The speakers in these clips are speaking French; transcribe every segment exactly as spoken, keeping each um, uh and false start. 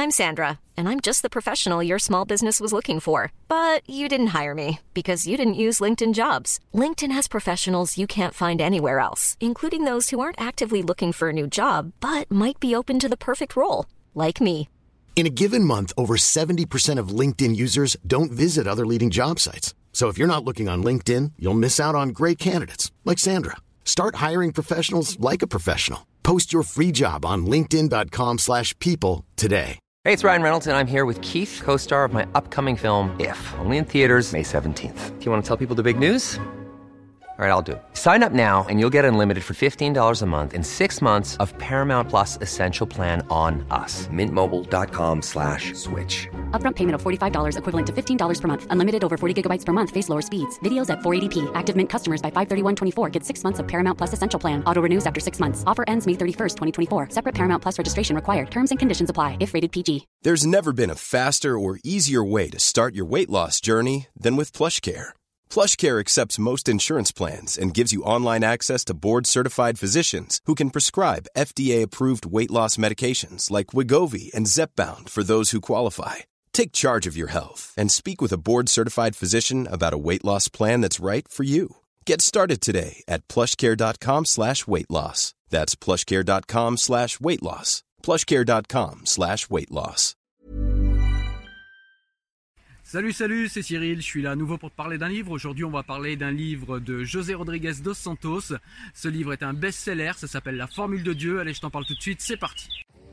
I'm Sandra, and I'm just the professional your small business was looking for. But you didn't hire me because you didn't use LinkedIn Jobs. LinkedIn has professionals you can't find anywhere else, including those who aren't actively looking for a new job, but might be open to the perfect role, like me. In a given month, over seventy percent of LinkedIn users don't visit other leading job sites. So if you're not looking on LinkedIn, you'll miss out on great candidates like Sandra. Start hiring professionals like a professional. Post your free job on linkedin.com slash people today. Hey, it's Ryan Reynolds, and I'm here with Keith, co-star of my upcoming film, If, only in theaters May seventeenth. Do you want to tell people the big news? All right, I'll do it. Sign up now and you'll get unlimited for fifteen dollars a month and six months of Paramount Plus Essential Plan on us. Mint Mobile dot com slash switch. Upfront payment of forty-five dollars equivalent to fifteen dollars per month. Unlimited over forty gigabytes per month. Face lower speeds. Videos at four eighty p. Active Mint customers by five thirty-one twenty-four get six months of Paramount Plus Essential Plan. Auto renews after six months. Offer ends May thirty-first, twenty twenty-four. Separate Paramount Plus registration required. Terms and conditions apply if rated P G. There's never been a faster or easier way to start your weight loss journey than with PlushCare. PlushCare accepts most insurance plans and gives you online access to board-certified physicians who can prescribe F D A-approved weight loss medications like Wegovy and Zepbound for those who qualify. Take charge of your health and speak with a board-certified physician about a weight loss plan that's right for you. Get started today at plushcare.com slash weight loss. That's plushcare.com slash weight loss. plushcare.com slash weight loss. Salut, salut, c'est Cyril, je suis là à nouveau pour te parler d'un livre. Aujourd'hui, on va parler d'un livre de José Rodriguez dos Santos. Ce livre est un best-seller, ça s'appelle La Formule de Dieu. Allez, je t'en parle tout de suite, c'est parti.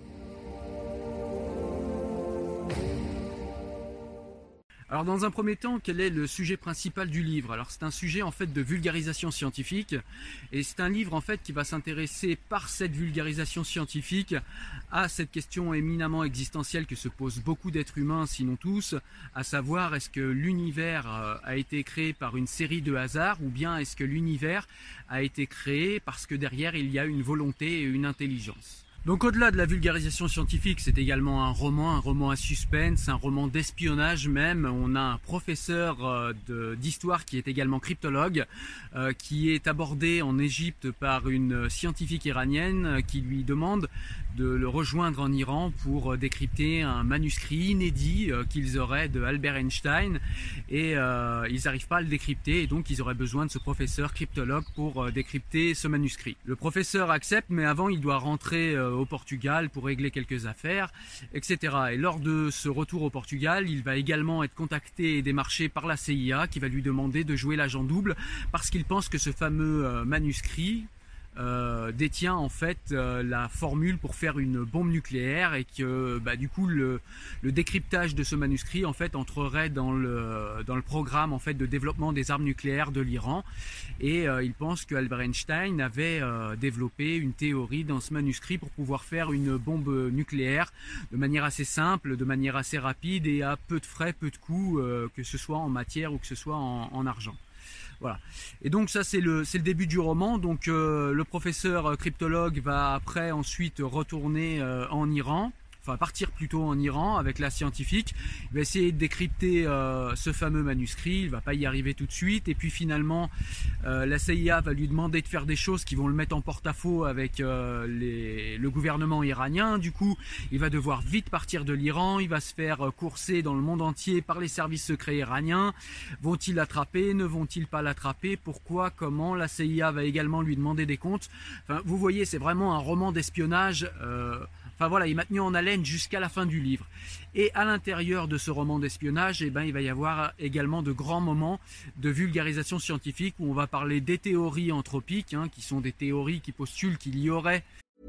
Alors dans un premier temps, quel est le sujet principal du livre? Alors c'est un sujet en fait de vulgarisation scientifique et c'est un livre en fait qui va s'intéresser par cette vulgarisation scientifique à cette question éminemment existentielle que se posent beaucoup d'êtres humains, sinon tous, à savoir est-ce que l'univers a été créé par une série de hasards ou bien est-ce que l'univers a été créé parce que derrière il y a une volonté et une intelligence. Donc au-delà de la vulgarisation scientifique, c'est également un roman, un roman à suspense, un roman d'espionnage même. On a un professeur euh, de, d'histoire qui est également cryptologue, euh, qui est abordé en Égypte par une scientifique iranienne euh, qui lui demande de le rejoindre en Iran pour euh, décrypter un manuscrit inédit euh, qu'ils auraient de Albert Einstein et euh, ils n'arrivent pas à le décrypter et donc ils auraient besoin de ce professeur cryptologue pour euh, décrypter ce manuscrit. Le professeur accepte mais avant il doit rentrer euh, au Portugal pour régler quelques affaires, et cetera. Et lors de ce retour au Portugal, il va également être contacté et démarché par la C I A qui va lui demander de jouer l'agent double parce qu'il pense que ce fameux euh, manuscrit Euh, détient en fait euh, la formule pour faire une bombe nucléaire et que bah, du coup le, le décryptage de ce manuscrit en fait entrerait dans le, dans le programme en fait de développement des armes nucléaires de l'Iran et euh, il pense que Albert Einstein avait euh, développé une théorie dans ce manuscrit pour pouvoir faire une bombe nucléaire de manière assez simple, de manière assez rapide et à peu de frais, peu de coûts, euh, que ce soit en matière ou que ce soit en, en argent. Voilà. Et donc ça c'est le, c'est le début du roman. Donc euh, le professeur cryptologue va après ensuite retourner euh, en Iran, enfin partir plutôt en Iran avec la scientifique. Il va essayer de décrypter euh, ce fameux manuscrit, il va pas y arriver tout de suite et puis finalement euh, la C I A va lui demander de faire des choses qui vont le mettre en porte-à-faux avec euh, les, le gouvernement iranien. Du coup il va devoir vite partir de l'Iran, il va se faire courser dans le monde entier par les services secrets iraniens. Vont-ils l'attraper? Ne vont-ils pas l'attraper? Pourquoi? Comment? La C I A va également lui demander des comptes. Enfin, vous voyez, c'est vraiment un roman d'espionnage. Euh, Enfin voilà, il m'a tenu en haleine jusqu'à la fin du livre. Et à l'intérieur de ce roman d'espionnage, eh ben, il va y avoir également de grands moments de vulgarisation scientifique où on va parler des théories anthropiques, hein, qui sont des théories qui postulent qu'il y aurait.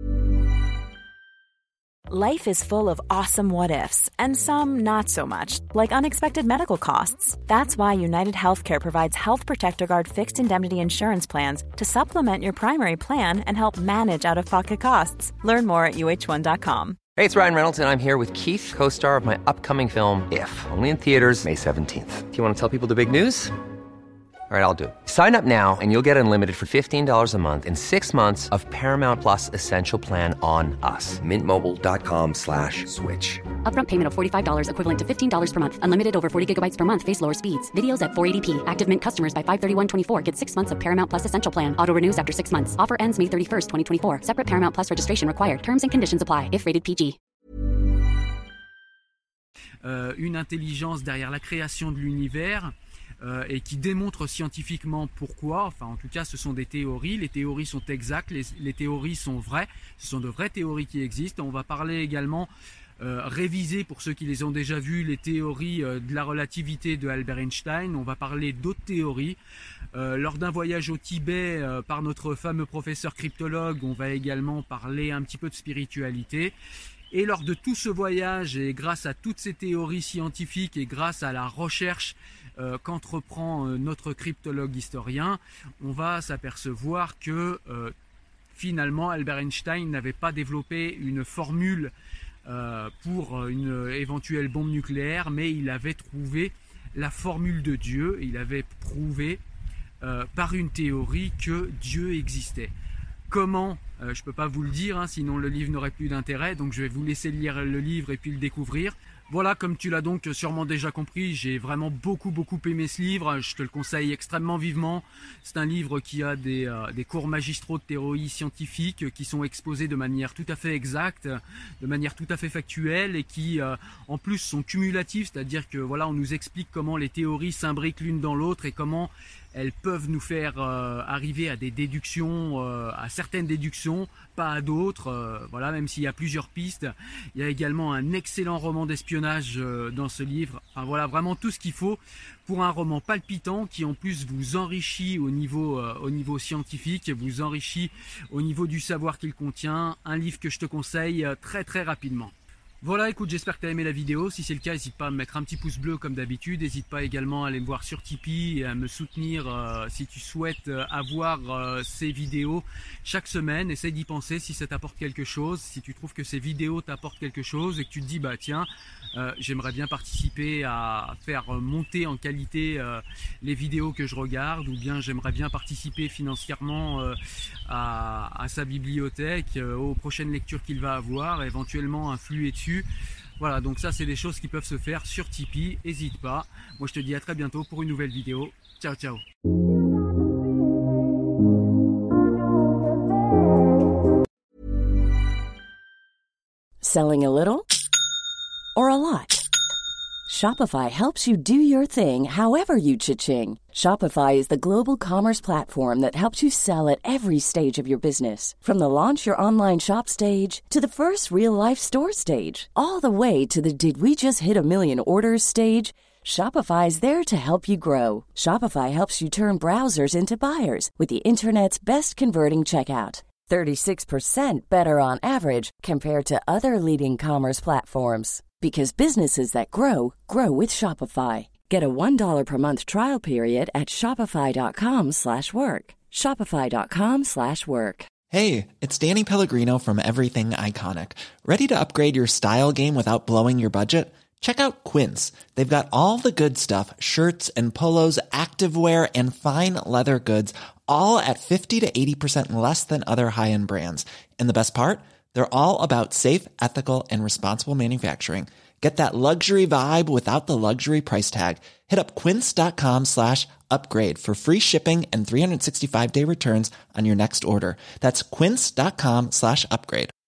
Life is full of awesome what-ifs, and some not so much, like unexpected medical costs. That's why United Healthcare provides Health Protector Guard fixed indemnity insurance plans to supplement your primary plan and help manage out-of-pocket costs. Learn more at U H one dot com. Hey, it's Ryan Reynolds, and I'm here with Keith, co-star of my upcoming film, If, only in theaters May seventeenth. Do you want to tell people the big news? All right, I'll do it. Sign up now and you'll get unlimited for fifteen dollars a month and six months of Paramount Plus Essential Plan on us. Mint Mobile dot com slash switch. Upfront payment of forty-five dollars equivalent to fifteen dollars per month. Unlimited over forty gigabytes per month. Face lower speeds. Videos at four eighty p. Active Mint customers by five thirty-one twenty-four get six months of Paramount Plus Essential Plan. Auto renews after six months. Offer ends May thirty-first, twenty twenty-four. Separate Paramount Plus registration required. Terms and conditions apply if rated P G. euh, une intelligence derrière la création de l'univers euh, et qui démontre scientifiquement pourquoi. Enfin, en tout cas, ce sont des théories. Les théories sont exactes, les, les théories sont vraies. Ce sont de vraies théories qui existent. On va parler également Euh, réviser, pour ceux qui les ont déjà vus, les théories euh, de la relativité de Albert Einstein. On va parler d'autres théories. Euh, lors d'un voyage au Tibet euh, par notre fameux professeur cryptologue, on va également parler un petit peu de spiritualité. Et lors de tout ce voyage, et grâce à toutes ces théories scientifiques et grâce à la recherche euh, qu'entreprend euh, notre cryptologue historien, on va s'apercevoir que euh, finalement Albert Einstein n'avait pas développé une formule Euh, pour une éventuelle bombe nucléaire, mais il avait trouvé la formule de Dieu. Il avait prouvé euh, par une théorie que Dieu existait. Comment euh, je ne peux pas vous le dire, hein, sinon le livre n'aurait plus d'intérêt, donc je vais vous laisser lire le livre et puis le découvrir. Voilà, comme tu l'as donc sûrement déjà compris, j'ai vraiment beaucoup beaucoup aimé ce livre, je te le conseille extrêmement vivement. C'est un livre qui a des, euh, des cours magistraux de théorie scientifique qui sont exposés de manière tout à fait exacte, de manière tout à fait factuelle et qui euh, en plus sont cumulatifs, c'est-à-dire que voilà, on nous explique comment les théories s'imbriquent l'une dans l'autre et comment elles peuvent nous faire euh, arriver à des déductions, euh, à certaines déductions, pas à d'autres. Euh, voilà, même s'il y a plusieurs pistes. Il y a également un excellent roman d'espionnage euh, dans ce livre. Enfin voilà, vraiment tout ce qu'il faut pour un roman palpitant qui en plus vous enrichit au niveau, euh, au niveau scientifique, vous enrichit au niveau du savoir qu'il contient. Un livre que je te conseille euh, très très rapidement. Voilà, écoute, j'espère que tu as aimé la vidéo. Si c'est le cas, n'hésite pas à me mettre un petit pouce bleu comme d'habitude. N'hésite pas également à aller me voir sur Tipeee et à me soutenir euh, si tu souhaites euh, avoir euh, ces vidéos chaque semaine. Essaye d'y penser si ça t'apporte quelque chose. Si tu trouves que ces vidéos t'apportent quelque chose et que tu te dis, bah tiens, euh, j'aimerais bien participer à faire monter en qualité euh, les vidéos que je regarde, ou bien j'aimerais bien participer financièrement euh, à, à sa bibliothèque, euh, aux prochaines lectures qu'il va avoir, éventuellement influer dessus. Voilà, donc ça c'est des choses qui peuvent se faire sur Tipeee, n'hésite pas. Moi je te dis à très bientôt pour une nouvelle vidéo. Ciao ciao. Selling a little or a lot? Shopify helps you do your thing however you cha-ching. Shopify is the global commerce platform that helps you sell at every stage of your business. From the launch your online shop stage to the first real-life store stage, all the way to the did we just hit a million orders stage. Shopify is there to help you grow. Shopify helps you turn browsers into buyers with the internet's best converting checkout. thirty-six percent better on average compared to other leading commerce platforms. Because businesses that grow, grow with Shopify. Get a one dollar per month trial period at shopify.com slash work. Shopify.com slash work. Hey, it's Danny Pellegrino from Everything Iconic. Ready to upgrade your style game without blowing your budget? Check out Quince. They've got all the good stuff, shirts and polos, activewear, and fine leather goods, all at fifty to eighty percent less than other high-end brands. And the best part? They're all about safe, ethical, and responsible manufacturing. Get that luxury vibe without the luxury price tag. Hit up quince.com slash upgrade for free shipping and three sixty-five day returns on your next order. That's quince.com slash upgrade.